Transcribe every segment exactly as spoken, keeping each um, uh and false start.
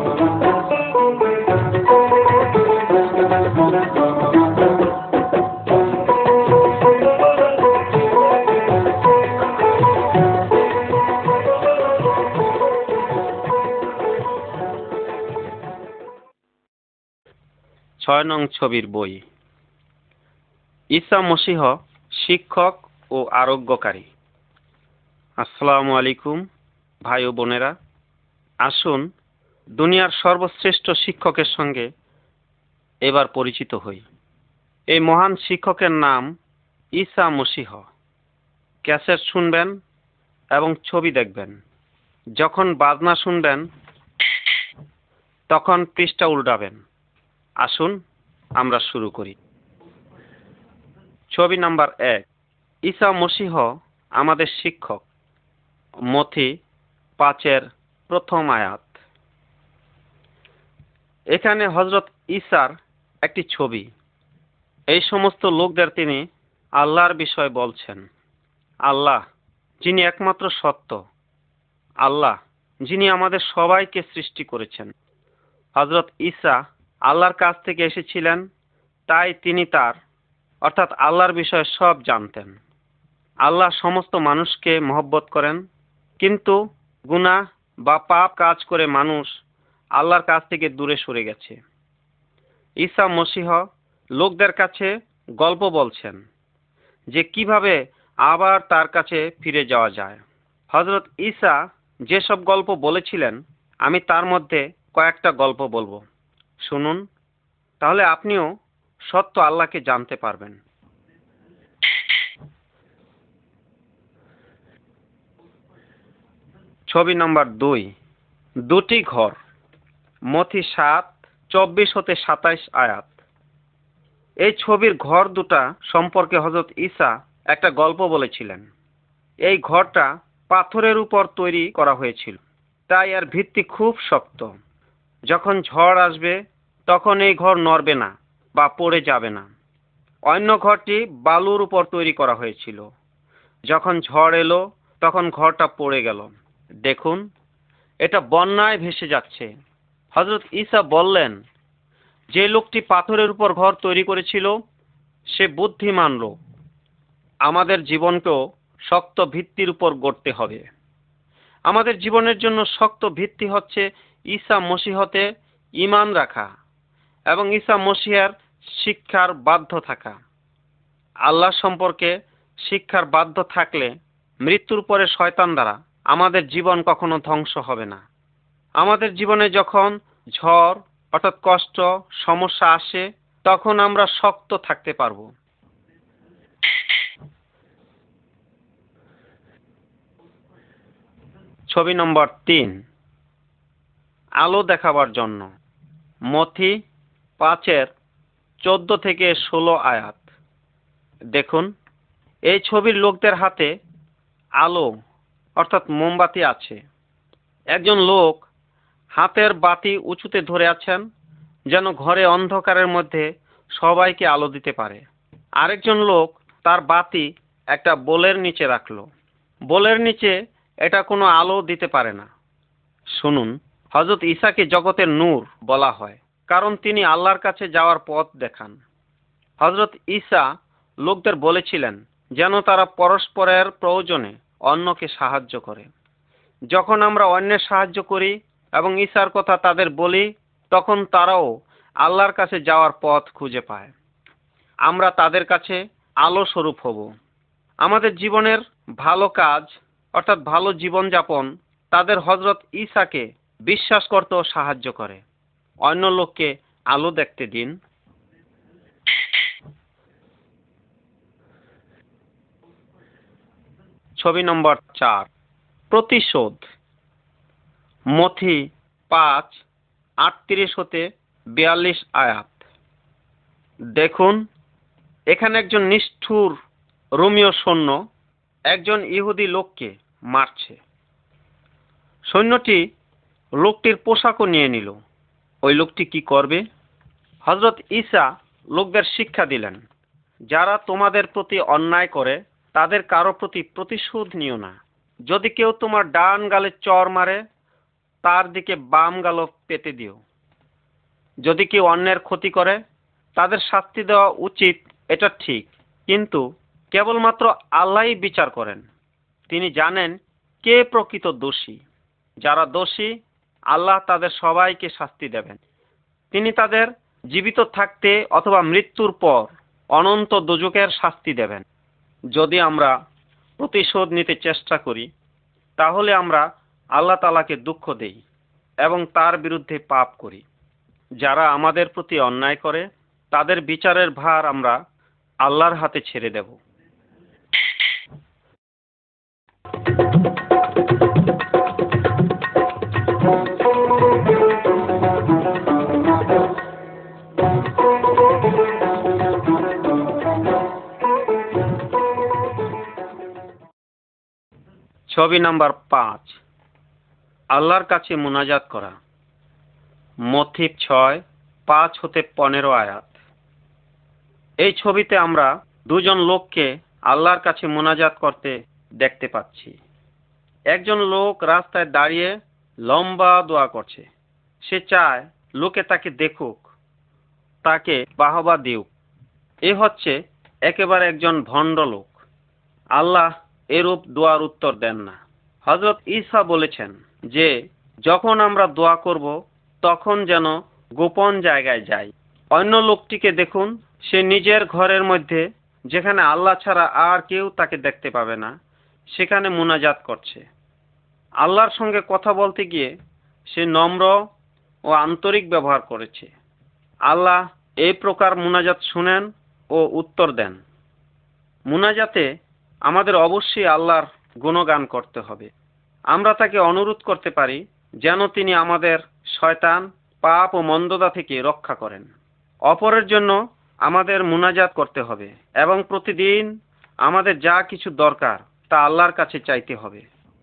ছয় নং ছবির বই। ঈসা মসীহ শিক্ষক ও আরোগ্যকারী। আসসালামু আলাইকুম ভাই ও বোনেরা, আসুন দুনিয়ার সর্বশ্রেষ্ঠ শিক্ষকের সঙ্গে এবার পরিচিত হই। এই মহান শিক্ষকের নাম ঈসা মসীহ। ক্যাসেট শুনবেন এবং ছবি দেখবেন। যখন বাজনা শুনবেন তখন পৃষ্ঠা উল্টাবেন। আসুন আমরা শুরু করি। ছবি নাম্বার এক। ঈসা মসীহ আমাদের শিক্ষক। মথি পাঁচের প্রথম আয়াত। এখানে হযরত ঈসার একটি ছবি। এই সমস্ত লোকদের তিনি আল্লাহর বিষয় বলছেন। আল্লাহ যিনি একমাত্র সত্য, আল্লাহ যিনি আমাদের সবাইকে সৃষ্টি করেছেন। হযরত ঈসা আল্লাহর কাছ থেকে এসেছিলেন, তাই তিনি তার অর্থাৎ আল্লাহর বিষয়ে সব জানতেন। আল্লাহ সমস্ত মানুষকে মহব্বত করেন, কিন্তু গুনাহ বা পাপ কাজ করে মানুষ আল্লাহর কাছ থেকে দূরে সরে গেছে। ঈসা মসীহ লোকদের কাছে গল্প বলছেন যে কিভাবে আবার তার কাছে ফিরে যাওয়া যায়। হযরত ঈসা যেসব গল্প বলেছিলেন, আমি তার মধ্যে কয়েকটা গল্প বলবো। শুনুন, তাহলে আপনিও সত্য আল্লাহকে জানতে পারবেন। ছবি নম্বর দুই। দুটি ঘর। মথি সাত চব্বিশ হতে সাতাইশ আয়াত। এই ছবির ঘর দুটা সম্পর্কে হযরত ঈসা একটা গল্প বলেছিলেন। এই ঘরটা পাথরের উপর তৈরি করা হয়েছিল, তাই এর ভিত্তি খুব শক্ত। যখন ঝড় আসবে তখন এই ঘর নড়বে না বা পড়ে যাবে না। অন্য ঘরটি বালুর উপর তৈরি করা হয়েছিল। যখন ঝড় এলো তখন ঘরটা পড়ে গেল। দেখুন, এটা বন্যায় ভেসে যাচ্ছে। হযরত ঈসা বললেন, যে লোকটি পাথরের উপর ঘর তৈরি করেছিল সে বুদ্ধিমান লোক। আমাদের জীবনকেও শক্ত ভিত্তির উপর গড়তে হবে। আমাদের জীবনের জন্য শক্ত ভিত্তি হচ্ছে ঈসা মসীহতে ঈমান রাখা এবং ঈসা মসীহের শিক্ষার বাধ্য থাকা। আল্লাহ সম্পর্কে শিক্ষার বাধ্য থাকলে মৃত্যুর পরে শয়তান দ্বারা আমাদের জীবন কখনো ধ্বংস হবে না। আমাদের জীবনে যখন ঝড় অর্থাৎ কষ্ট সমস্যা আসে তখন আমরা শক্ত থাকতে পারবো। ছবি নম্বর তিন। আলো দেখাবার জন্য। মথি পাঁচের চোদ্দ থেকে ষোলো আয়াত। দেখুন, এই ছবির লোকদের হাতে আলো অর্থাৎ মোমবাতি আছে। একজন লোক হাতের বাতি উঁচুতে ধরে আছেন, যেন ঘরে অন্ধকারের মধ্যে সবাইকে আলো দিতে পারে। আরেকজন লোক তার বাতি একটা বোলের নিচে রাখলো। বোলের নিচে এটা কোনো আলো দিতে পারে না। শুনুন, হযরত ঈসাকে জগতের নূর বলা হয়, কারণ তিনি আল্লাহর কাছে যাওয়ার পথ দেখান। হযরত ঈসা লোকদের বলেছিলেন যেন তারা পরস্পরের প্রয়োজনে অন্যকে সাহায্য করে। যখন আমরা অন্যের সাহায্য করি এবং ঈসার কথা তাদের বলি, তখন তারাও আল্লাহর কাছে যাওয়ার পথ খুঁজে পায়। আমরা তাদের কাছে আলো স্বরূপ হব। আমাদের জীবনের ভালো কাজ অর্থাৎ ভালো জীবনযাপন তাদের হযরত ঈসাকে বিশ্বাস করতেও সাহায্য করে। অন্য লোককে আলো দেখতে দিন। ছবি নম্বর চার। প্রতিশোধ। মথি পাঁচ আটত্রিশ হতে বিয়াল্লিশ আয়াত। দেখুন, এখানে একজন নিষ্ঠুর রোমীয় সৈন্য একজন ইহুদি লোককে মারছে। সৈন্যটি লোকটির পোশাকও নিয়ে নিল। ওই লোকটি কি করবে? হযরত ঈসা লোকদের শিক্ষা দিলেন, যারা তোমাদের প্রতি অন্যায় করে তাদের কারো প্রতি প্রতিশোধ নিও না। যদি কেউ তোমার ডান গালে চড় মারে, তার দিকে বাম গাল পেতে দিও। যদি কেউ অন্যের ক্ষতি করে তাদের শাস্তি দেওয়া উচিত, এটা ঠিক, কিন্তু কেবলমাত্র আল্লাহই বিচার করেন। তিনি জানেন কে প্রকৃত দোষী। যারা দোষী, আল্লাহ তাদের সবাইকে শাস্তি দেবেন। তিনি তাদের জীবিত থাকতে অথবা মৃত্যুর পর অনন্ত দোজখের শাস্তি দেবেন। যদি আমরা প্রতিশোধ নিতে চেষ্টা করি তাহলে আমরা আল্লাহ তাআলাকে দুঃখ দেই এবং তার বিরুদ্ধে পাপ করি। যারা আমাদের প্রতি অন্যায় করে তাদের বিচারের ভার আমরা আল্লাহর হাতে ছেড়ে দেব। ছবি নাম্বার পাঁচ, আল্লাহর কাছে মুনাজাত করা। মথি ছয় পাঁচ হতে পনেরো আয়াত। এই ছবিতে আমরা দুজন লোককে আল্লাহর কাছে মুনাজাত করতে দেখতে পাচ্ছি। একজন লোক রাস্তায় দাঁড়িয়ে লম্বা দোয়া করছে। সে চায় লোকে তাকে দেখুক, তাকে বাহবা দিউক। এ হচ্ছে একেবারে একজন ভণ্ড লোক। আল্লাহ এরূপ দোয়ার উত্তর দেন না। হযরত ঈসা বলেছেন যে যখন আমরা দোয়া করব তখন যেন গোপন জায়গায় যাই। অন্য লোকটিকে দেখুন, সে নিজের ঘরের মধ্যে, যেখানে আল্লাহ ছাড়া আর কেউ তাকে দেখতে পাবে না, সেখানে মুনাজাত করছে। আল্লাহর সঙ্গে কথা বলতে গিয়ে সে নম্র ও আন্তরিক ব্যবহার করেছে। আল্লাহ এই প্রকার মুনাজাত শুনেন ও উত্তর দেন। মুনাজাতে আমাদের অবশ্যই আল্লাহর গুণগান করতে হবে। আমরা তাকে অনুরোধ করতে পারি যেন তিনি আমাদের শয়তান, পাপ ও মন্দতা থেকে রক্ষা করেন। অপরের জন্য আমাদের মুনাজাত করতে হবে এবং প্রতিদিন আমাদের যা কিছু দরকার তা আল্লাহর কাছে চাইতে হবে।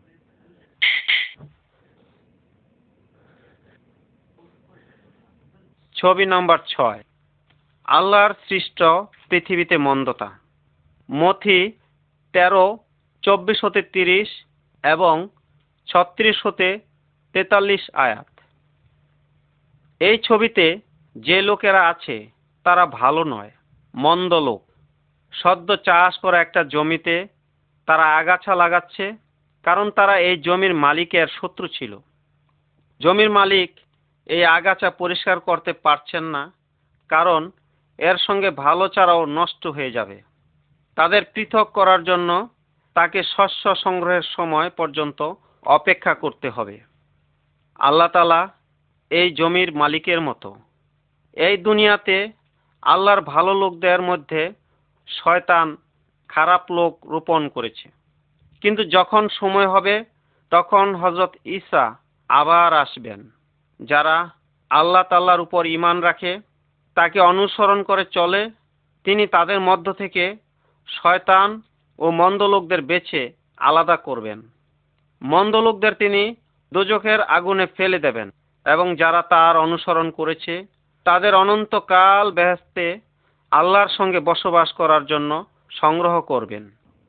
ছবি নম্বর ছয়, আল্লাহর সৃষ্ট পৃথিবীতে মন্দতা। মথি তেরো চব্বিশ হতে তিরিশ এবং ছত্রিশ হতে তেতাল্লিশ আয়াত। এই ছবিতে যে লোকেরা আছে তারা ভালো নয়, মন্দ লোক। সদ্য চাষ করা একটা জমিতে তারা আগাছা লাগাচ্ছে, কারণ তারা এই জমির মালিকের শত্রু ছিল। জমির মালিক এই আগাছা পরিষ্কার করতে পারছেন না, কারণ এর সঙ্গে ভালো চারাও নষ্ট হয়ে যাবে। তাদের পৃথক করার জন্য তাকে শস্য সংগ্রহের সময় পর্যন্ত অপেক্ষা করতে হবে। আল্লাহ তাআলা এই জমির মালিকের মতো। এই দুনিয়াতে আল্লাহর ভালো লোকদের মধ্যে শয়তান খারাপ লোক রোপণ করেছে, কিন্তু যখন সময় হবে তখন হযরত ঈসা আবার আসবেন। যারা আল্লাহ তাআলার উপর ঈমান রাখে, তাকে অনুসরণ করে চলে, তিনি তাদের মধ্য থেকে শয়তান ও মন্দ লোকদের বেছে আলাদা করবেন। মন্দ লোকদের তিনি দোজখের আগুনে ফেলে দেবেন এবং যারা তার অনুসরণ করেছে তাদের অনন্তকাল বেহেশতে আল্লাহর সঙ্গে বসবাস করার জন্য সংগ্রহ করবেন।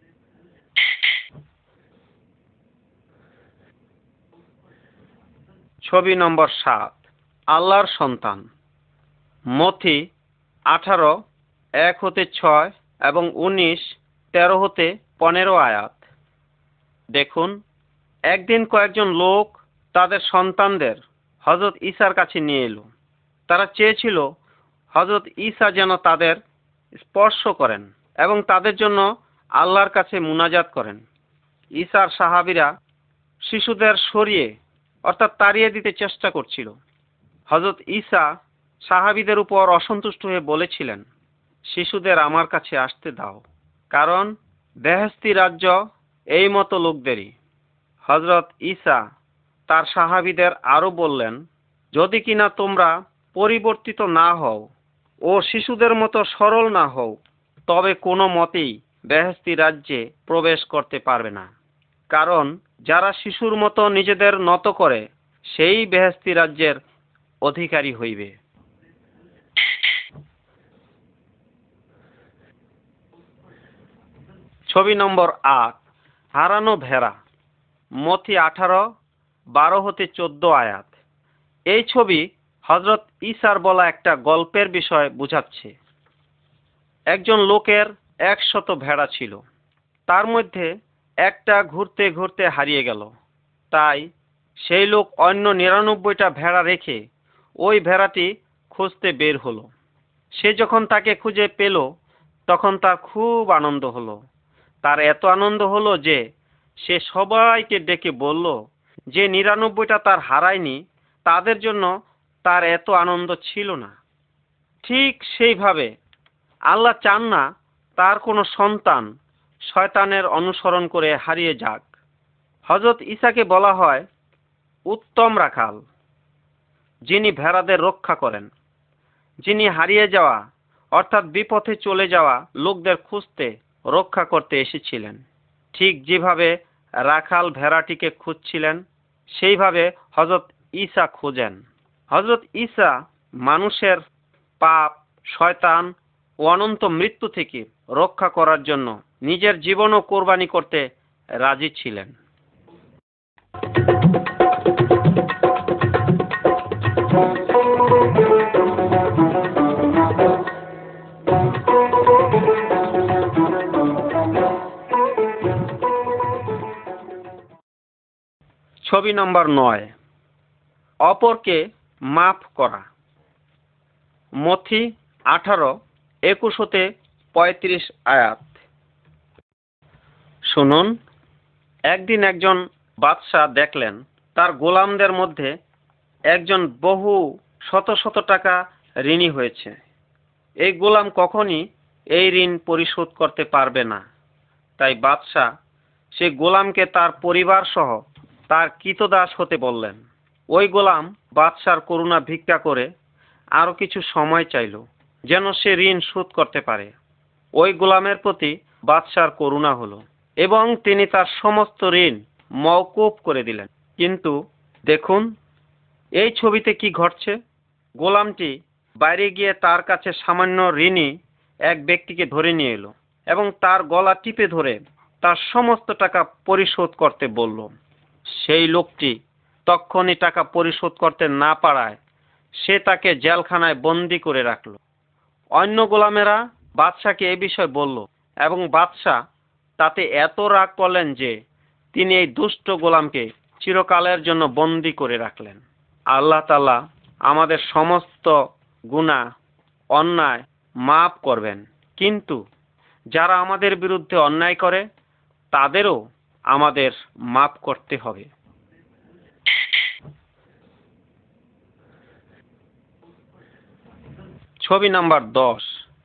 ছবি নম্বর সাত, আল্লাহর সন্তান। মথি আঠারো এক হতে ছয় এবং উনিশ তেরো হতে পনেরো আয়াত। দেখুন, একদিন কয়েকজন লোক তাদের সন্তানদের হযরত ঈসার কাছে নিয়ে এলো। তারা চেয়েছিল হযরত ঈসা যেন তাদের স্পর্শ করেন এবং তাদের জন্য আল্লাহর কাছে মুনাজাত করেন। ঈসার সাহাবীরা শিশুদের সরিয়ে অর্থাৎ তাড়িয়ে দিতে চেষ্টা করছিল। হযরত ঈসা সাহাবীদের উপর অসন্তুষ্ট হয়ে বলেছিলেন, শিশুদের আমার কাছে আসতে দাও, কারণ বেহেশতি রাজ্য এই মতো লোকদেরই। হযরত ঈসা তার সাহাবীদের আরো বললেন, যদি কিনা তোমরা পরিবর্তিত না হও ও শিশুদের মতো সরল না হও, তবে কোনো মতেই বেহেশতি রাজ্যে প্রবেশ করতে পারবে না। কারণ যারা শিশুর মতো নিজেদের নত করে সেই বেহেশতি রাজ্যের অধিকারী হইবে। ছবি নম্বর আট, হারানো ভেড়া। মথি আঠারো বারো হতে চোদ্দ আয়াত। এই ছবি হজরত ঈসার বলা একটা গল্পের বিষয় বোঝাচ্ছে। একজন লোকের একশত ভেড়া ছিল, তার মধ্যে একটা ঘুরতে ঘুরতে হারিয়ে গেল। তাই সেই লোক অন্য নিরানব্বইটা ভেড়া রেখে ওই ভেড়াটি খুঁজতে বের হলো। সে যখন তাকে খুঁজে পেল তখন তার খুব আনন্দ হলো। তার এত আনন্দ হলো যে সে সবাইকে ডেকে বলল যে নিরানব্বইটা তার হারায়নি, তাদের জন্য তার এত আনন্দ ছিল না। ঠিক সেইভাবে আল্লাহ চান না তার কোনো সন্তান শয়তানের অনুসরণ করে হারিয়ে যাক। হযরত ঈসাকে বলা হয় উত্তম রাখাল, যিনি ভেড়াদের রক্ষা করেন, যিনি হারিয়ে যাওয়া অর্থাৎ বিপথে চলে যাওয়া লোকদের খুঁজতে রক্ষা করতে এসেছিলেন। ঠিক যেভাবে রাখাল ভেড়াটিকে খুঁজছিলেন, সেইভাবে হযরত ঈসা খোঁজেন। হযরত ঈসা মানুষের পাপ, শয়তান ও অনন্ত মৃত্যু থেকে রক্ষা করার জন্য নিজের জীবনও কোরবানি করতে রাজি ছিলেন। ছবি নম্বর নয়, অপরকে মাফ করা। মথি আঠারো একুশ হতে পঁয়ত্রিশ আয়াত। শুনুন, একদিন একজন বাদশাহ দেখলেন তার গোলামদের মধ্যে একজন বহু শত শত টাকা ঋণী হয়েছে। এই গোলাম কখনই এই ঋণ পরিশোধ করতে পারবে না। তাই বাদশাহ সেই গোলামকে তার পরিবার সহ তার কৃতদাস হতে বললেন। ওই গোলাম বাদশার করুণা ভিক্ষা করে আরো কিছু সময় চাইল, যেন সে ঋণ শোধ করতে পারে। ওই গোলামের প্রতি বাদশার করুণা হলো এবং তিনি তার সমস্ত ঋণ মওকুফ করে দিলেন। কিন্তু দেখুন এই ছবিতে কি ঘটছে। গোলামটি বাইরে গিয়ে তার কাছে সামান্য ঋণী এক ব্যক্তিকে ধরে নিয়ে এলো এবং তার গলা টিপে ধরে তার সমস্ত টাকা পরিশোধ করতে বলল। সেই লোকটি তখনই টাকা পরিশোধ করতে না পারায় সে তাকে জেলখানায় বন্দি করে রাখল। অন্য গোলামেরা বাদশাকে এ বিষয় বলল এবং বাদশাহ তাতে এত রাগ করলেন যে তিনি এই দুষ্ট গোলামকে চিরকালের জন্য বন্দি করে রাখলেন। আল্লাহ তাআলা আমাদের সমস্ত গুনাহ, অন্যায় মাফ করবেন, কিন্তু যারা আমাদের বিরুদ্ধে অন্যায় করে তাদেরও আমাদের মাফ করতে হবে। ছবি নাম্বার দশ,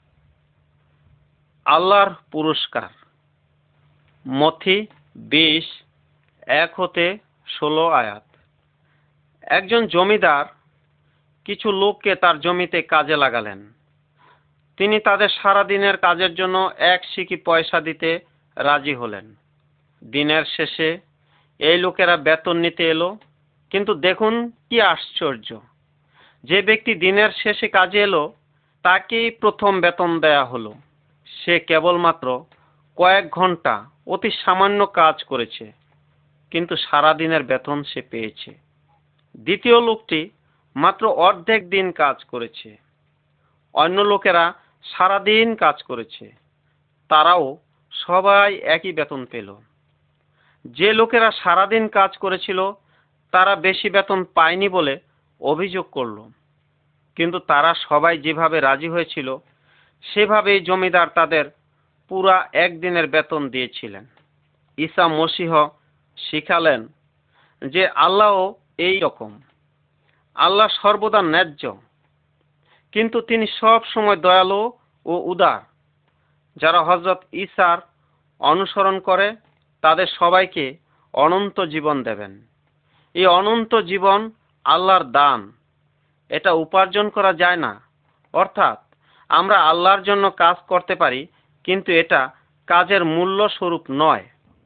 আল্লাহর পুরস্কার। মথি বিশ এক হতে ষোলো আয়াত। একজন জমিদার কিছু লোককে তার জমিতে কাজে লাগালেন। তিনি তাদের সারা দিনের কাজের জন্য এক সিকি পয়সা দিতে রাজি হলেন। দিনের শেষে এই লোকেরা বেতন নিতে এলো, কিন্তু দেখুন কি আশ্চর্য, যে ব্যক্তি দিনের শেষে কাজে এলো তাকেই প্রথম বেতন দেয়া হলো। সে কেবলমাত্র কয়েক ঘন্টা অতি সামান্য কাজ করেছে, কিন্তু সারা দিনের বেতন সে পেয়েছে। দ্বিতীয় লোকটি মাত্র অর্ধেক দিন কাজ করেছে। অন্য লোকেরা সারা দিন কাজ করেছে, তারাও সবাই একই বেতন পেল। যে লোকেরা সারাদিন কাজ করেছিল তারা বেশি বেতন পায়নি বলে অভিযোগ করল, কিন্তু তারা সবাই যেভাবে রাজি হয়েছিল সেভাবেই জমিদার তাদের পুরা একদিনের বেতন দিয়েছিলেন। ঈসা মসীহ শিখালেন যে আল্লাহ এই রকম। আল্লাহ সর্বদা ন্যায্য, কিন্তু তিনি সব সময় দয়ালু ও উদার। যারা হযরত ঈসার অনুসরণ করে তাদের সবাইকে অনন্ত জীবন দেবেন। এই অনন্ত জীবন আল্লাহর দান, এটা উপার্জন করা যায় না। অর্থাৎ আমরা আল্লাহর জন্য কাজ করতে পারি, কিন্তু এটা কাজের মূল্য স্বরূপ নয়।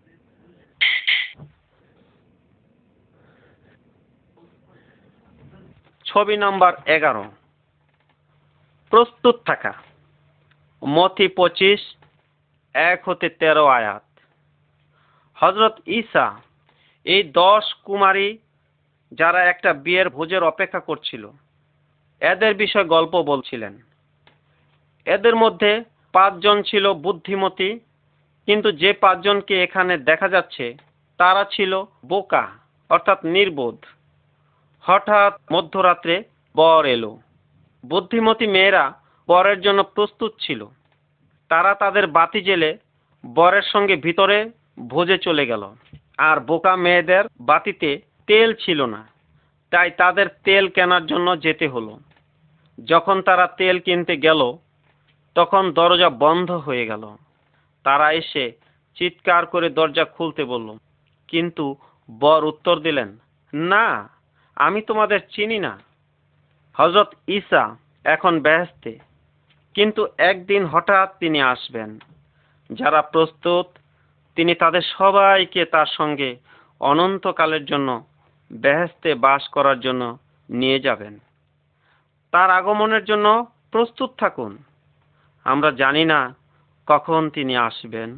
ছবি নাম্বার এগারো, প্রস্তুত থাকা। মথি পঁচিশ এক হতে তেরো আয়াত। হযরত ঈসা এই দশ কুমারী যারা একটা বিয়ের ভোজের অপেক্ষা করছিল। এদের বিষয়ে গল্প বলছিলেন। এদের মধ্যে পাঁচজন ছিল বুদ্ধিমতী, কিন্তু যে পাঁচজনকে এখানে দেখা যাচ্ছে তারা ছিল বোকা, অর্থাৎ নির্বোধ। হঠাৎ মধ্যরাত্রে বর এলো। বুদ্ধিমতী মেয়েরা বরের জন্য প্রস্তুত ছিল। তারা তাদের বাতি জ্বেলে বরের সঙ্গে ভিতরে ভোজে চলে গেল। আর বোকা মেয়েদের বাতিতে তেল ছিল না, তাই তাদের তেল কেনার জন্য যেতে হলো। যখন তারা তেল কিনতে গেল তখন দরজা বন্ধ হয়ে গেল। তারা এসে চিৎকার করে দরজা খুলতে বলল, কিন্তু বর উত্তর দিলেন, না, আমি তোমাদের চিনি না। হযরত ঈসা এখন বেহেশতে, কিন্তু একদিন হঠাৎ তিনি আসবেন। যারা প্রস্তুত তিনি তাদের সবাইকে তার সঙ্গে অনন্তকালের জন্য বেহেশতে বাস করার জন্য নিয়ে যাবেন। তার আগমনের জন্য প্রস্তুত থাকুন। আমরা জানি না কখন তিনি আসবেন।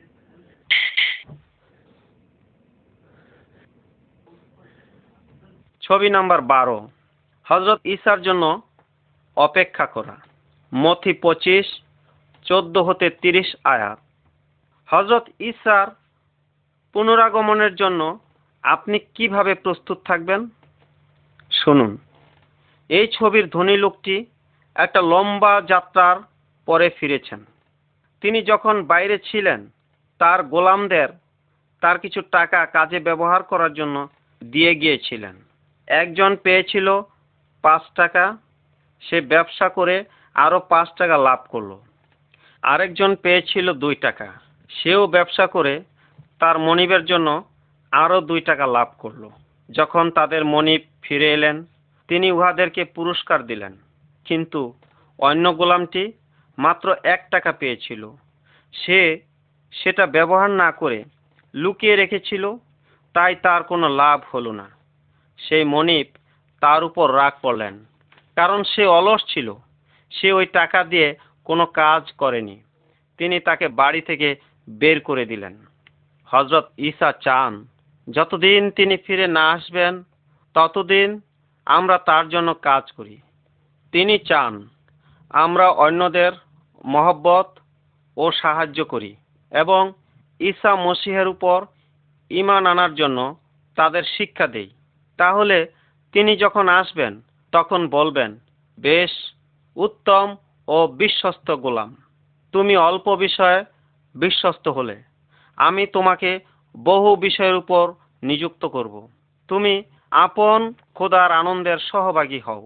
ছবি নাম্বার বারো, হযরত ঈসার জন্য অপেক্ষা করা। মথি পঁচিশ চোদ্দ হতে তিরিশ আয়াত। হযরত ঈসার পুনরাগমনের জন্য আপনি কিভাবে প্রস্তুত থাকবেন? শুনুন। এই ছবির ধনী লোকটি একটা লম্বা যাত্রার পরে ফিরেছেন। তিনি যখন বাইরে ছিলেন তার গোলামদের তার কিছু টাকা কাজে ব্যবহার করার জন্য দিয়ে গিয়েছিলেন। একজন পেয়েছিল পাঁচ টাকা, সে ব্যবসা করে আরো পাঁচ টাকা লাভ করলো। আরেকজন পেয়েছিল দুই টাকা, সেও ব্যবসা করে তার মনিবের জন্য আরো দুই টাকা লাভ করলো। যখন তাদের মনিব ফিরে এলেন তিনি উহাদেরকে পুরস্কার দিলেন, কিন্তু অন্য গোলামটি মাত্র এক টাকা পেয়েছিল। সে সেটা ব্যবহার না করে লুকিয়ে রেখেছিল, তাই তার কোনো লাভ হলো না। সেই মনিব তার উপর রাগ করলেন, কারণ সে অলস ছিল। সে ওই টাকা দিয়ে কোনো কাজ করেনি। তিনি তাকে বাড়ি থেকে বের করে দিলেন। হযরত ঈসা চান যতদিন তিনি ফিরে না আসবেন ততদিন আমরা তার জন্য কাজ করি। তিনি চান আমরা অন্যদের মহব্বত ও সাহায্য করি এবং ঈসা মসীহের উপর ঈমান আনার জন্য তাদের শিক্ষা দেই। তাহলে তিনি যখন আসবেন তখন বলবেন, বেশ, উত্তম ও বিশ্বস্ত গোলাম, তুমি অল্প বিষয়ে বিশ্বস্ত হলে, আমি তোমাকে বহু বিষয়ের উপর নিযুক্ত করব। তুমি আপন খোদার আনন্দের সহভাগী হও।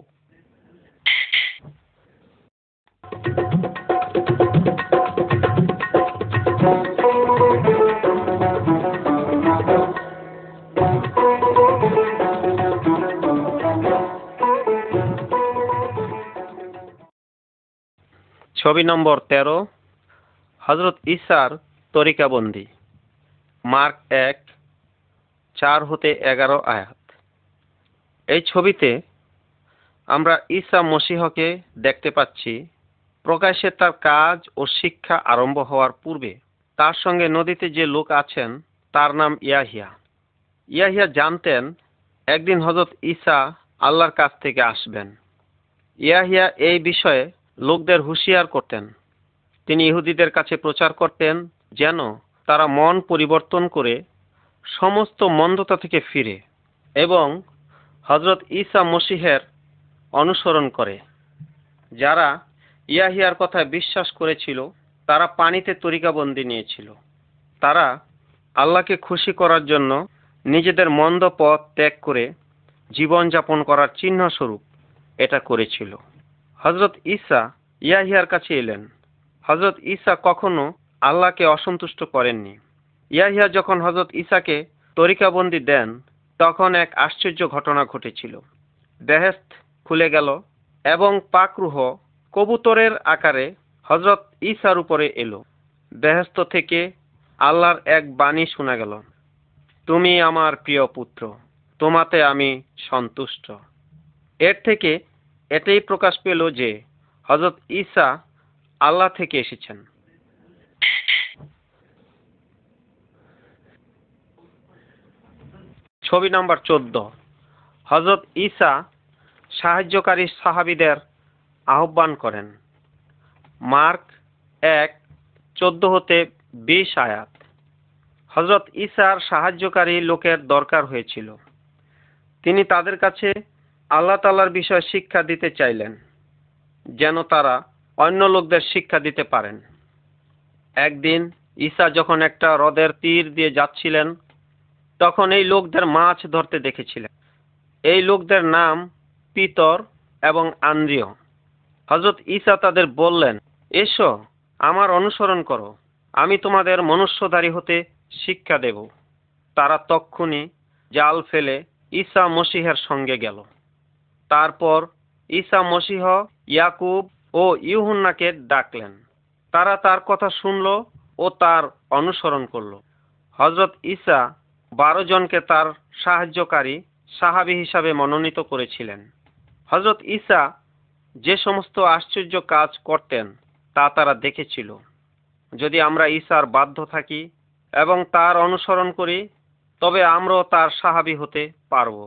ছবি নম্বর তেরো, হযরত ঈসার তরিকাবন্দি। মার্ক এক চার হতে এগারো আয়াত। এই ছবিতে আমরা ঈসা মসীহকে দেখতে পাচ্ছি। প্রকাশ্যে তার কাজ ও শিক্ষা আরম্ভ হওয়ার পূর্বে তার সঙ্গে নদীতে যে লোক আছেন তার নাম ইয়াহিয়া। ইয়াহিয়া জানতেন একদিন হযরত ঈসা আল্লাহর কাছ থেকে আসবেন। ইয়াহিয়া এই বিষয়ে লোকদের হুঁশিয়ার করতেন। তিনি ইহুদিদের কাছে প্রচার করতেন যেন তারা মন পরিবর্তন করে সমস্ত মন্দতা থেকে ফিরে এবং হযরত ঈসা মসীহের অনুসরণ করে। যারা ইয়াহিয়ার কথায় বিশ্বাস করেছিল তারা পানিতে তরিকাবন্দি নিয়েছিল। তারা আল্লাহকে খুশি করার জন্য নিজেদের মন্দ পথ ত্যাগ করে জীবনযাপন করার চিহ্ন স্বরূপ এটা করেছিল। হযরত ঈসা ইয়াহিয়ার কাছে এলেন। হযরত ঈসা কখনো আল্লাহকে অসন্তুষ্ট করেননি। ইয়াহিয়া যখন হযরত ঈসাকে তরিকাবন্দি দেন তখন এক আশ্চর্য ঘটনা ঘটেছিল। বেহেশত খুলে গেল এবং পাকরুহ কবুতরের আকারে হযরত ঈসার উপরে এলো। বেহেশত থেকে আল্লাহর এক বাণী শোনা গেল, তুমি আমার প্রিয় পুত্র, তোমাতে আমি সন্তুষ্ট। এর থেকে এটাই প্রকাশ পেল যে হযরত ঈসা আল্লাহ থেকে এসেছেন। ছবি নাম্বার চোদ্দ, হযরত ঈসা সাহায্যকারী সাহাবীদের আহ্বান করেন। মার্ক এক চোদ্দ হতে বিশ আয়াত। হযরত ঈসার সাহায্যকারী লোকের দরকার হয়েছিল। তিনি তাদের কাছে আল্লাহ তাআলার বিষয়ে শিক্ষা দিতে চাইলেন, যেন তারা অন্য লোকদের শিক্ষা দিতে পারেন। একদিন ঈসা যখন একটা হ্রদের তীর দিয়ে যাচ্ছিলেন, তখন এই লোকদের মাছ ধরতে দেখেছিলেন। এই লোকদের নাম পিতর এবং আন্দ্রিয়। হযরত ঈসা তাদের বললেন, এসো আমার অনুসরণ করো, আমি তোমাদের মনুষ্যধারী হতে শিক্ষা দেব। তারা তক্ষুনি জাল ফেলে ঈসা মসীহের সঙ্গে গেল। তারপর ঈসা মসীহ ইয়াকুব ও ইউহান্নাকে ডাকলেন। তারা তার কথা শুনল ও তার অনুসরণ করল। হযরত ঈসা বারো জনকে তার সাহায্যকারী সাহাবী হিসাবে মনোনীত করেছিলেন। হযরত ঈসা যে সমস্ত আশ্চর্য কাজ করতেন তা তারা দেখেছিল। যদি আমরা ঈসার বাধ্য থাকি এবং তার অনুসরণ করি, তবে আমরাও তার সাহাবী হতে পারব।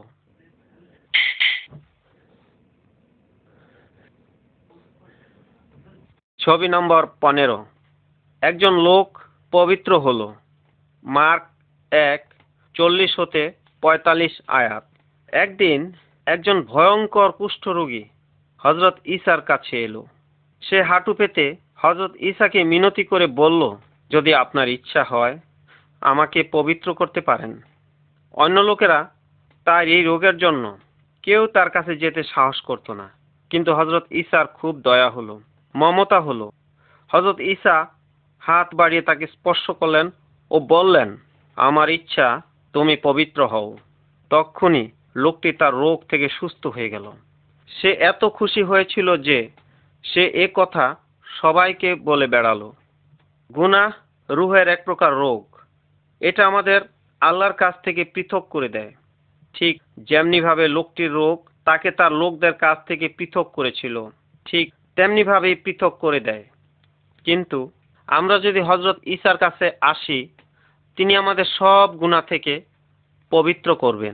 ছবি নম্বর পনেরো। একজন লোক পবিত্র হলো। মার্ক এক চল্লিশ হতে পঁয়তাল্লিশ আয়াত। একদিন একজন ভয়ঙ্কর কুষ্ঠরোগী হযরত ঈসার কাছে এলো। সে হাঁটু পেতে হযরত ঈসাকে মিনতি করে বলল, যদি আপনার ইচ্ছা হয় আমাকে পবিত্র করতে পারেন। অন্য লোকেরা তার এই রোগের জন্য কেউ তার কাছে যেতে সাহস করত না, কিন্তু হযরত ঈসার খুব দয়া হলো, মমতা হলো। হযরত ঈসা হাত বাড়িয়ে তাকে স্পর্শ করলেন ও বললেন, আমার ইচ্ছা তুমি পবিত্র হও। তক্ষুনি লোকটি তার রোগ থেকে সুস্থ হয়ে গেল। সে এত খুশি হয়েছিল যে সে এ কথা সবাইকে বলে বেড়ালো। গুনাহ রূহের এক প্রকার রোগ। এটা আমাদের আল্লাহর কাছ থেকে পৃথক করে দেয়। ঠিক যেমনি ভাবে লোকটির রোগ তাকে তার লোকদের কাছ থেকে পৃথক করেছিল, ঠিক তেমনি ভাবেই পৃথক করে দেয়। কিন্তু আমরা যদি হযরত ঈসার কাছে আসি, তিনি আমাদের সব গুনাহ থেকে পবিত্র করবেন।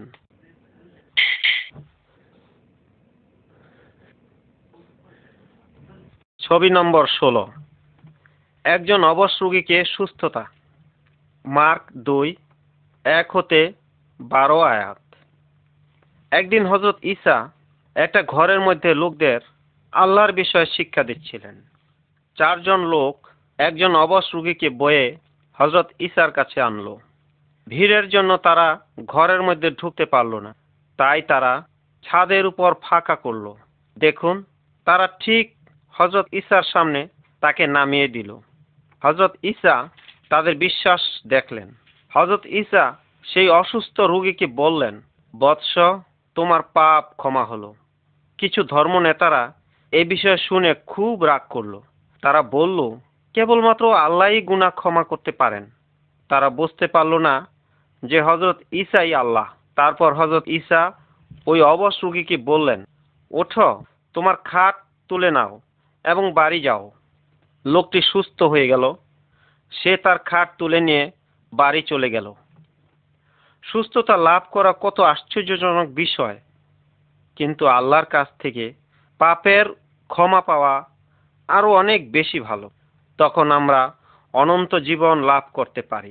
ছবি নম্বর ষোলো। একজন অবশ রোগীকে সুস্থতা। মার্ক দুই এক হতে বারো আয়াত। একদিন হযরত ঈসা একটা ঘরের মধ্যে লোকদের আল্লাহর বিষয়ে শিক্ষা দিচ্ছিলেন। চারজন লোক একজন অবশ রোগীকে বয়ে হযরত ঈসার কাছে আনলো। ভিড়ের জন্য তারা ঘরের মধ্যে ঢুকতে পারল না, তাই তারা ছাদের উপর ফাঁকা করলো। দেখুন, তারা ঠিক হযরত ঈসার সামনে তাকে নামিয়ে দিল। হযরত ঈসা তাদের বিশ্বাস দেখলেন। হযরত ঈসা সেই অসুস্থ রোগীকে বললেন, বৎস, তোমার পাপ ক্ষমা হলো। কিছু ধর্ম নেতারা এই বিষয়ে শুনে খুব রাগ করলো। তারা বলল, কেবলমাত্র আল্লাহই গুনাহ ক্ষমা করতে পারেন। তারা বুঝতে পারল না যে হযরত ঈসাই আল্লাহ। তারপর হযরত ঈসা ওই অবশ রোগীকে বললেন, ওঠো, তোমার খাট তুলে নাও এবং বাড়ি যাও। লোকটি সুস্থ হয়ে গেল। সে তার খাট তুলে নিয়ে বাড়ি চলে গেল। সুস্থতা লাভ করা কত আশ্চর্যজনক বিষয়, কিন্তু আল্লাহর কাছ থেকে পাপের ক্ষমা পাওয়া আরো অনেক বেশি ভালো। তখন আমরা অনন্ত জীবন লাভ করতে পারি।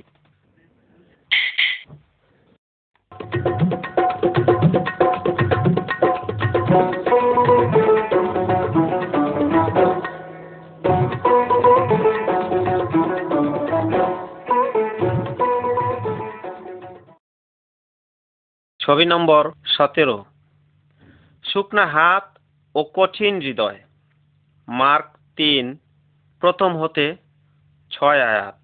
ছবি নম্বর সতেরো। শুকনা হাত ও কঠিন হৃদয়। মার্ক তিন প্রথম হতে ছয় আয়াত।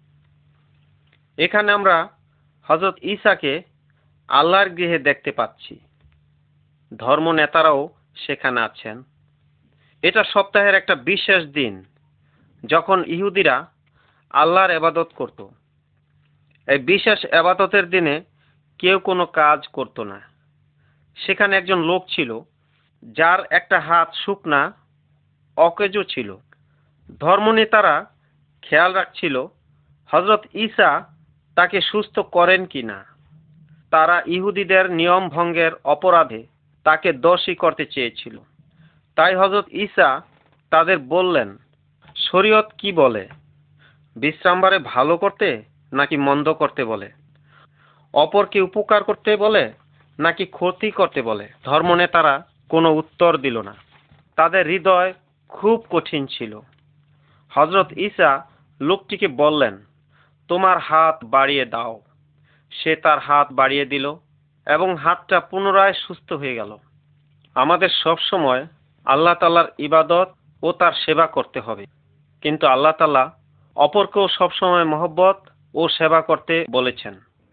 এখানে আমরা হযরত ঈসাকে আল্লাহর গৃহে দেখতে পাচ্ছি। ধর্ম নেতারাও সেখানে আছেন। এটা সপ্তাহের একটা বিশেষ দিন, যখন ইহুদিরা আল্লাহর ইবাদত করত। এই বিশেষ ইবাদতের দিনে কেউ কোনো কাজ করত না। সেখানে একজন লোক ছিল যার একটা হাত শুকনা অকেজো ছিল। ধর্মনেতারা খেয়াল রাখছিল হযরত ঈসা তাকে সুস্থ করেন কিনা। তারা ইহুদিদের নিয়ম ভঙ্গের অপরাধে তাকে দোষী করতে চেয়েছিল। তাই হযরত ঈসা তাদের বললেন, শরীয়ত কি বলে? বিশ্রামবারে ভালো করতে নাকি মন্দ করতে বলে? অপরকে উপকার করতে বলে নাকি ক্ষতি করতে বলে? ধর্মনেতারা কোনো উত্তর দিল না। তাদের হৃদয় খুব কঠিন ছিল। হযরত ঈসা লোকটিকে বললেন, তোমার হাত বাড়িয়ে দাও। সে তার হাত বাড়িয়ে দিল এবং হাতটা পুনরায় সুস্থ হয়ে গেল। আমাদের সব সময় আল্লাহ তাআলার ইবাদত ও তার সেবা করতে হবে, কিন্তু আল্লাহ তাআলা অপরকেও সবসময় মহব্বত ও সেবা করতে বলেছেন।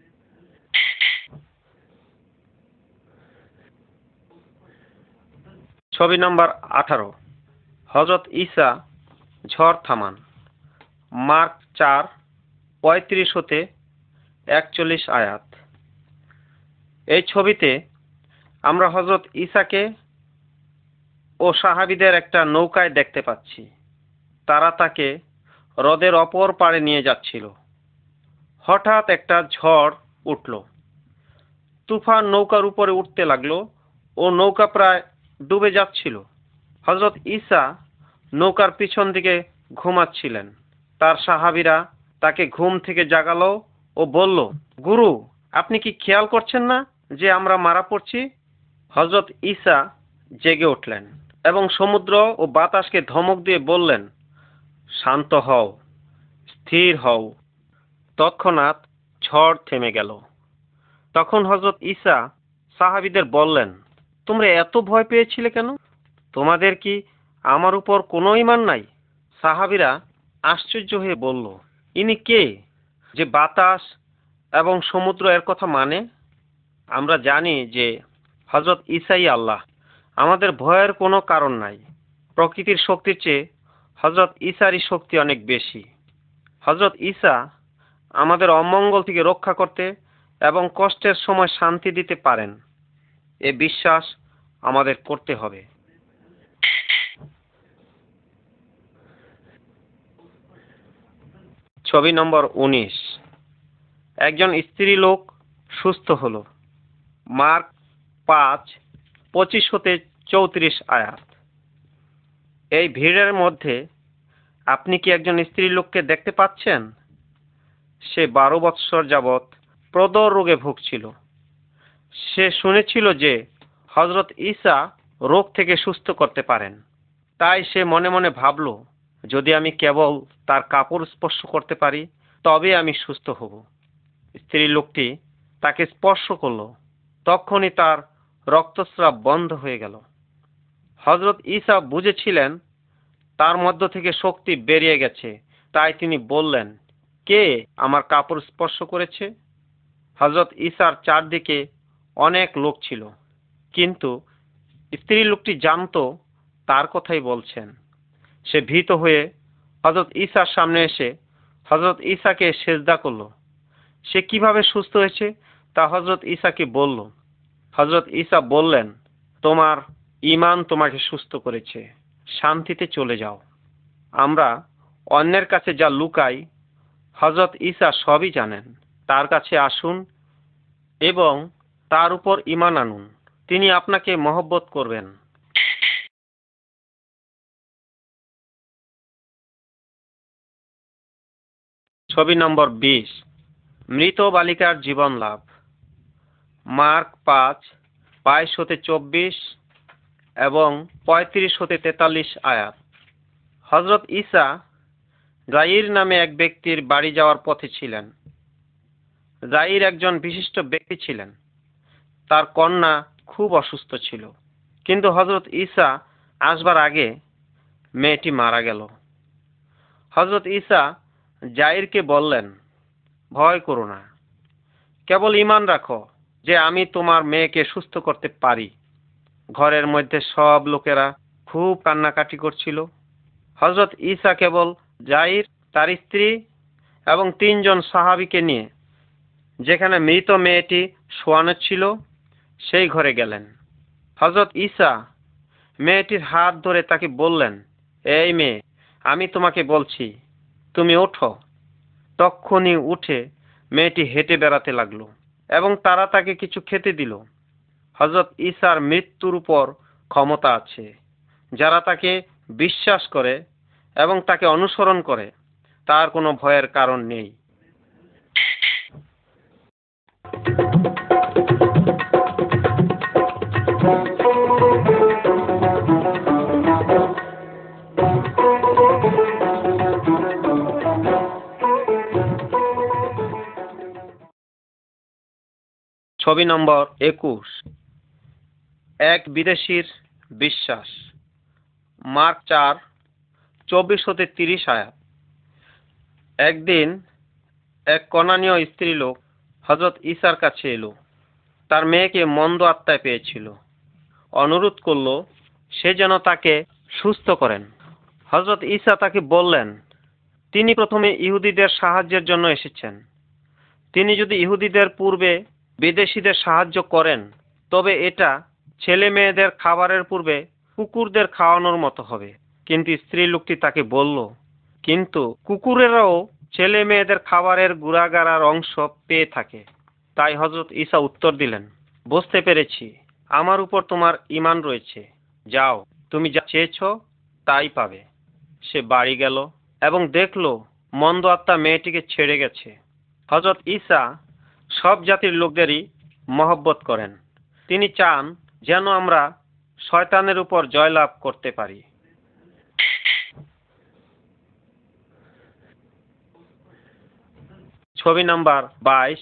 ছবি নম্বর আঠারো। হযরত ঈসা ঝড় থামান। মার্ক চার পঁয়ত্রিশ হতে একচল্লিশ আয়াত। এই ছবিতে আমরা হযরত ঈসাকে ও সাহাবীদের একটা নৌকায় দেখতে পাচ্ছি। তারা তাকে হ্রদের অপর পাড়ে নিয়ে যাচ্ছিল। হঠাৎ একটা ঝড় উঠল। তুফান নৌকার উপরে উঠতে লাগলো ও নৌকা প্রায় ডুবে যাচ্ছিল। হযরত ঈসা নৌকার পিছন দিকে ঘুমাচ্ছিলেন। তার সাহাবীরা তাকে ঘুম থেকে জাগালো ও বলল, গুরু, আপনি কি খেয়াল করছেন না যে আমরা মারা পড়ছি? হযরত ঈসা জেগে উঠলেন এবং সমুদ্র ও বাতাসকে ধমক দিয়ে বললেন, শান্ত হও, স্থির হও। তৎক্ষণাৎ ঝড় থেমে গেল। তখন হযরত ঈসা সাহাবীদের বললেন, তোমরা এত ভয় পেয়েছিলে কেন? তোমাদের কি আমার উপর কোনো ঈমান নাই? সাহাবীরা আশ্চর্য হয়ে বলল, ইনি কে যে বাতাস এবং সমুদ্র এর কথা মানে? আমরা জানি যে হযরত ঈসাই আল্লাহ। আমাদের ভয়ের কোনো কারণ নাই। প্রকৃতির শক্তির চেয়ে হযরত ঈসারই শক্তি অনেক বেশি। হযরত ঈসা আমাদের অমঙ্গল থেকে রক্ষা করতে এবং কষ্টের সময় শান্তি দিতে পারেন, এ বিশ্বাস আমাদের করতে হবে। ছবি নম্বর উনিশ। একজন স্ত্রী লোক সুস্থ হলো। মার্ক পাঁচ পঁচিশ হতে চৌত্রিশ আয়াত। এই ভিড়ের মধ্যে আপনি কি একজন স্ত্রী লোককে দেখতে পাচ্ছেন? সে বারো বৎসর যাবৎ প্রদর রোগে ভুগছিল। সে শুনেছিল যে হযরত ঈসা রোগ থেকে সুস্থ করতে পারেন। তাই সে মনে মনে ভাবল, যদি আমি কেবল তার কাপড় স্পর্শ করতে পারি তবে আমি সুস্থ হব। স্ত্রী লোকটি তাকে স্পর্শ করল। তখনই তার রক্তস্রাব বন্ধ হয়ে গেল। হযরত ঈসা বুঝেছিলেন তার মধ্য থেকে শক্তি বেরিয়ে গেছে। তাই তিনি বললেন, কে আমার কাপড় স্পর্শ করেছে? হযরত ঈসার চারদিকে অনেক লোক ছিল, কিন্তু স্ত্রী লোকটি জানতো তার কথাই বলছেন। সে ভীত হয়ে হযরত ঈসার সামনে এসে হযরত ঈসাকে সেজদা করল। সে কিভাবে সুস্থ হয়েছে তা হযরত ঈসাকে বলল। হযরত ঈসা বললেন, তোমার ঈমান তোমাকে সুস্থ করেছে, শান্তিতে চলে যাও। আমরা অন্যের কাছে যা লুকাই হযরত ঈসা সবই জানেন। তার কাছে আসুন এবং তার উপর ঈমান আনুন। তিনি আপনাকে মহব্বত করবেন। ছবি নম্বর বিশ। মৃত বালিকার জীবন লাভ। মার্ক পাঁচ বাইশ হতে চব্বিশ এবং পঁয়ত্রিশ হতে তেতাল্লিশ আয়াত। হযরত ঈসা যায়ীর নামে এক ব্যক্তির বাড়ি যাওয়ার পথে ছিলেন। যায়ীর একজন বিশিষ্ট ব্যক্তি ছিলেন। তার কন্যা খুব অসুস্থ ছিল, কিন্তু হযরত ঈসা আসবার আগে মেয়েটি মারা গেল। হযরত ঈসা যায়ীরকে বললেন, ভয় করো না, কেবল ঈমান রাখো যে আমি তোমার মেয়েকে সুস্থ করতে পারি। ঘরের মধ্যে সব লোকেরা খুব কান্নাকাটি করছিল। হযরত ঈসা কেবল যায়ীর, তার স্ত্রী এবং তিনজন সাহাবীকে নিয়ে যেখানে মৃত মেয়েটি শোয়ানো ছিল সেই ঘরে গেলেন। হযরত ঈসা মেয়েটির হাত ধরে তাকে বললেন, এই মেয়ে, আমি তোমাকে বলছি, তুমি ওঠো। তক্ষুনি উঠে মেয়েটি হেঁটে বেড়াতে লাগলো। এবং তারা তাকে কিছু খেতে দিল। হযরত ঈসার মৃত্যুর উপর ক্ষমতা আছে। যারা তাকে বিশ্বাস করে এবং তাকে অনুসরণ করে তার কোনো ভয়ের কারণ নেই। ছবি নম্বর একুশ। এক বিদেশির বিশ্বাস। মার্ক চার চব্বিশ হতে তিরিশ আয়াত। একদিন এক কনানীয় স্ত্রীলোক হযরত ঈসার কাছে এলো। তার মেয়েকে মন্দ আত্মায় পেয়েছিল। অনুরোধ করল সে যেন তাকে সুস্থ করেন। হযরত ঈসা তাকে বললেন, তিনি প্রথমে ইহুদিদের সাহায্যের জন্য এসেছেন। তিনি যদি ইহুদিদের পূর্বে বিদেশীদের সাহায্য করেন তবে এটা ছেলে মেয়েদের খাবারের পূর্বে কুকুরদের খাওয়ানোর মতো হবে। কিন্তু স্ত্রী লোকটি তাকে বলল, কিন্তু কুকুরেরাও ছেলে মেয়েদের খাবারের গুড়াগাড়ার অংশ পেয়ে থাকে। তাই হযরত ঈসা উত্তর দিলেন, বুঝতে পেরেছি, আমার উপর তোমার ঈমান রয়েছে। যাও, তুমি যা চেয়েছ তাই পাবে। সে বাড়ি গেল এবং দেখল মন্দ আত্মা মেয়েটিকে ছেড়ে গেছে। হযরত ঈসা সব জাতির লোকদেরই মহব্বত করেন। তিনি চান যেন আমরা শয়তানের উপর জয়লাভ করতে পারি। ছবি নাম্বার বাইশ।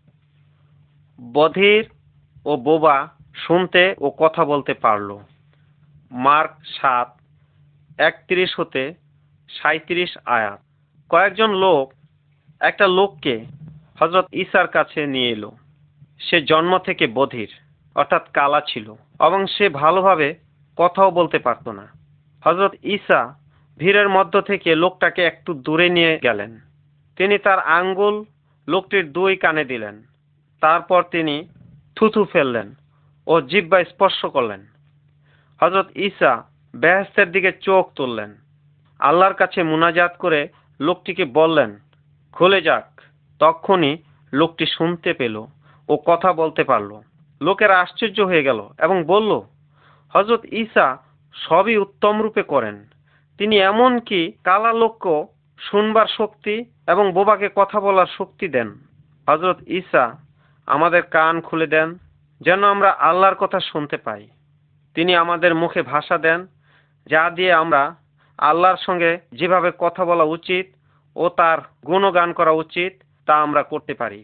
বধির ও বোবা শুনতে ও কথা বলতে পারল। মার্ক সাত একত্রিশ হতে সাঁইত্রিশ আয়াত। কয়েকজন লোক একটা লোককে হযরত ঈসার কাছে নিয়ে এলো। সে জন্ম থেকে বধির অর্থাৎ কালা ছিল এবং সে ভালোভাবে কথাও বলতে পারত না। হযরত ঈসা ভিড়ের মধ্য থেকে লোকটাকে একটু দূরে নিয়ে গেলেন। তিনি তার আঙ্গুল লোকটির দুই কানে দিলেন। তারপর তিনি থুথু ফেললেন ও জিহ্বা স্পর্শ করলেন। হযরত ঈসা বেহেশতের দিকে চোখ তুললেন, আল্লাহর কাছে মুনাজাত করে লোকটিকে বললেন, খুলে যাক। তখনই লোকটি শুনতে পেল ও কথা বলতে পারল। লোকেরা আশ্চর্য হয়ে গেল এবং বলল, হযরত ঈসা সবই উত্তম রূপে করেন। তিনি এমনকি কালা লোককেও শুনবার শক্তি এবং বোবাকে কথা বলার শক্তি দেন। হযরত ঈসা আমাদের কান খুলে দেন যেন আমরা আল্লাহর কথা শুনতে পাই। তিনি আমাদের মুখে ভাষা দেন যা দিয়ে আমরা আল্লাহর সঙ্গে যেভাবে কথা বলা উচিত ও তার গুণগান করা উচিত তা আমরা করতে পারি।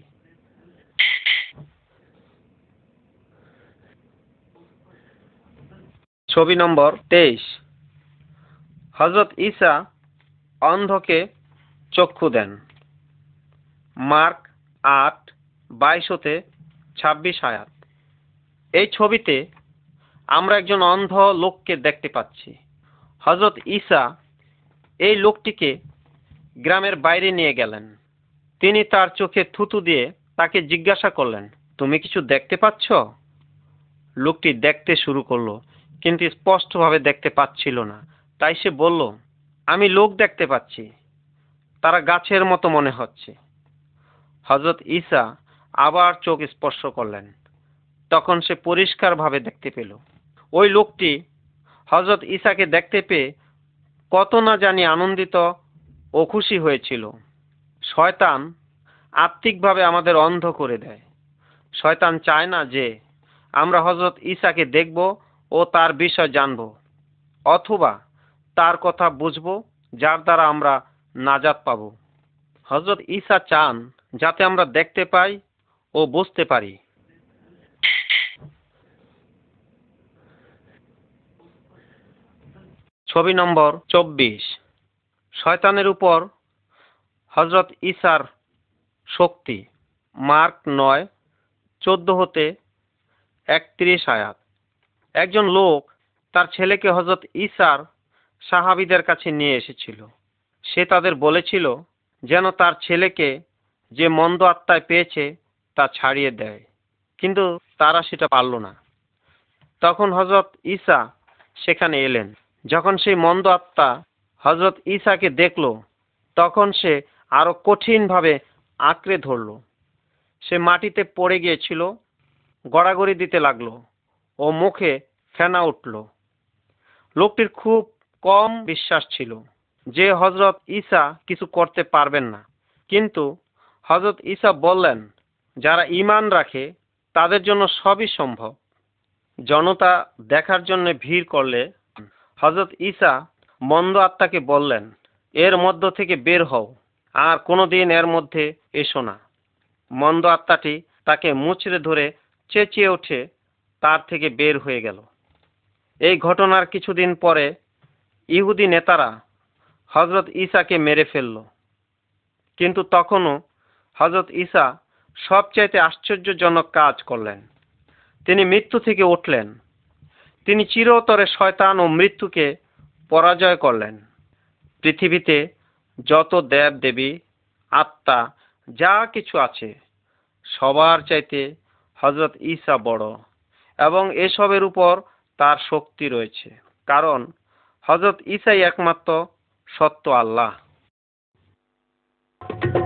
ছবি নম্বর তেইশ। হযরত ঈসা অন্ধকে চক্ষু দেন। মার্ক আট বাইশ হতে ছাব্বিশ আয়াত। এই ছবিতে আমরা একজন অন্ধ লোককে দেখতে পাচ্ছি। হযরত ঈসা এই লোকটিকে গ্রামের বাইরে নিয়ে গেলেন। তিনি তার চোখে থুতু দিয়ে তাকে জিজ্ঞাসা করলেন, তুমি কিছু দেখতে পাচ্ছ? লোকটি দেখতে শুরু করলো কিন্তু স্পষ্টভাবে দেখতে পাচ্ছিল না। তাই সে বলল, আমি লোক দেখতে পাচ্ছি, তারা গাছের মতো মনে হচ্ছে। হযরত ঈসা আবার চোখ স্পর্শ করলেন। তখন সে পরিষ্কারভাবে দেখতে পেল। ওই লোকটি হযরত ঈসাকে দেখতে পেয়ে কত না জানি আনন্দিত ও খুশি হয়েছিল। শয়তান আত্মিকভাবে আমাদের অন্ধ করে দেয়। শয়তান চায় না যে আমরা হযরত ঈসাকে দেখব ও তার বিষয় জানব অথবা তার কথা বুঝব, যার দ্বারা আমরা নাজাত পাব। হযরত ঈসা চান যাতে আমরা দেখতে পাই ও বুঝতে পারি। ছবি নম্বর চব্বিশ। শয়তানের উপর হযরত ঈসার শক্তি। মার্ক নয় চোদ্দ হতে একত্রিশ আয়াত। একজন লোক তার ছেলেকে হযরত ঈসার সাহাবীদের কাছে নিয়ে এসেছিল। সে তাদের বলেছিল যেন তার ছেলেকে যে মন্দ আত্মায় পেয়েছে তা ছাড়িয়ে দেয়, কিন্তু তারা সেটা পারল না। তখন হযরত ঈসা সেখানে এলেন। যখন সেই মন্দ আত্মা হযরত ঈসাকে দেখল তখন সে আরো কঠিনভাবে আঁকড়ে ধরল। সে মাটিতে পড়ে গিয়েছিল, গড়াগড়ি দিতে লাগলো ও মুখে ফেনা উঠল। লোকটির খুব কম বিশ্বাস ছিল যে হযরত ঈসা কিছু করতে পারবেন না, কিন্তু হযরত ঈসা বললেন, যারা ঈমান রাখে তাদের জন্য সবই সম্ভব। জনতা দেখার জন্য ভিড় করলে হযরত ঈসা মন্দ আত্মাকে বললেন, এর মধ্য থেকে বের হও, আর কোনোদিন এর মধ্যে এসো না। মন্দ আত্মাটি তাকে মুচড়ে ধরে চেঁচিয়ে উঠে তার থেকে বের হয়ে গেল। এই ঘটনার কিছুদিন পরে ইহুদি নেতারা হযরত ঈসাকে মেরে ফেলল, কিন্তু তখনও হযরত ঈসা সবচাইতে আশ্চর্যজনক কাজ করলেন। তিনি মৃত্যু থেকে উঠলেন। তিনি চিরতরে শয়তান ও মৃত্যুকে পরাজয় করলেন। পৃথিবীতে যত দেব দেবী, আত্মা, যা কিছু আছে সবার চাইতে হযরত ঈসা বড়, এবং এসবের উপর তার শক্তি রয়েছে, কারণ হযরত ঈসাই একমাত্র সত্য আল্লাহ।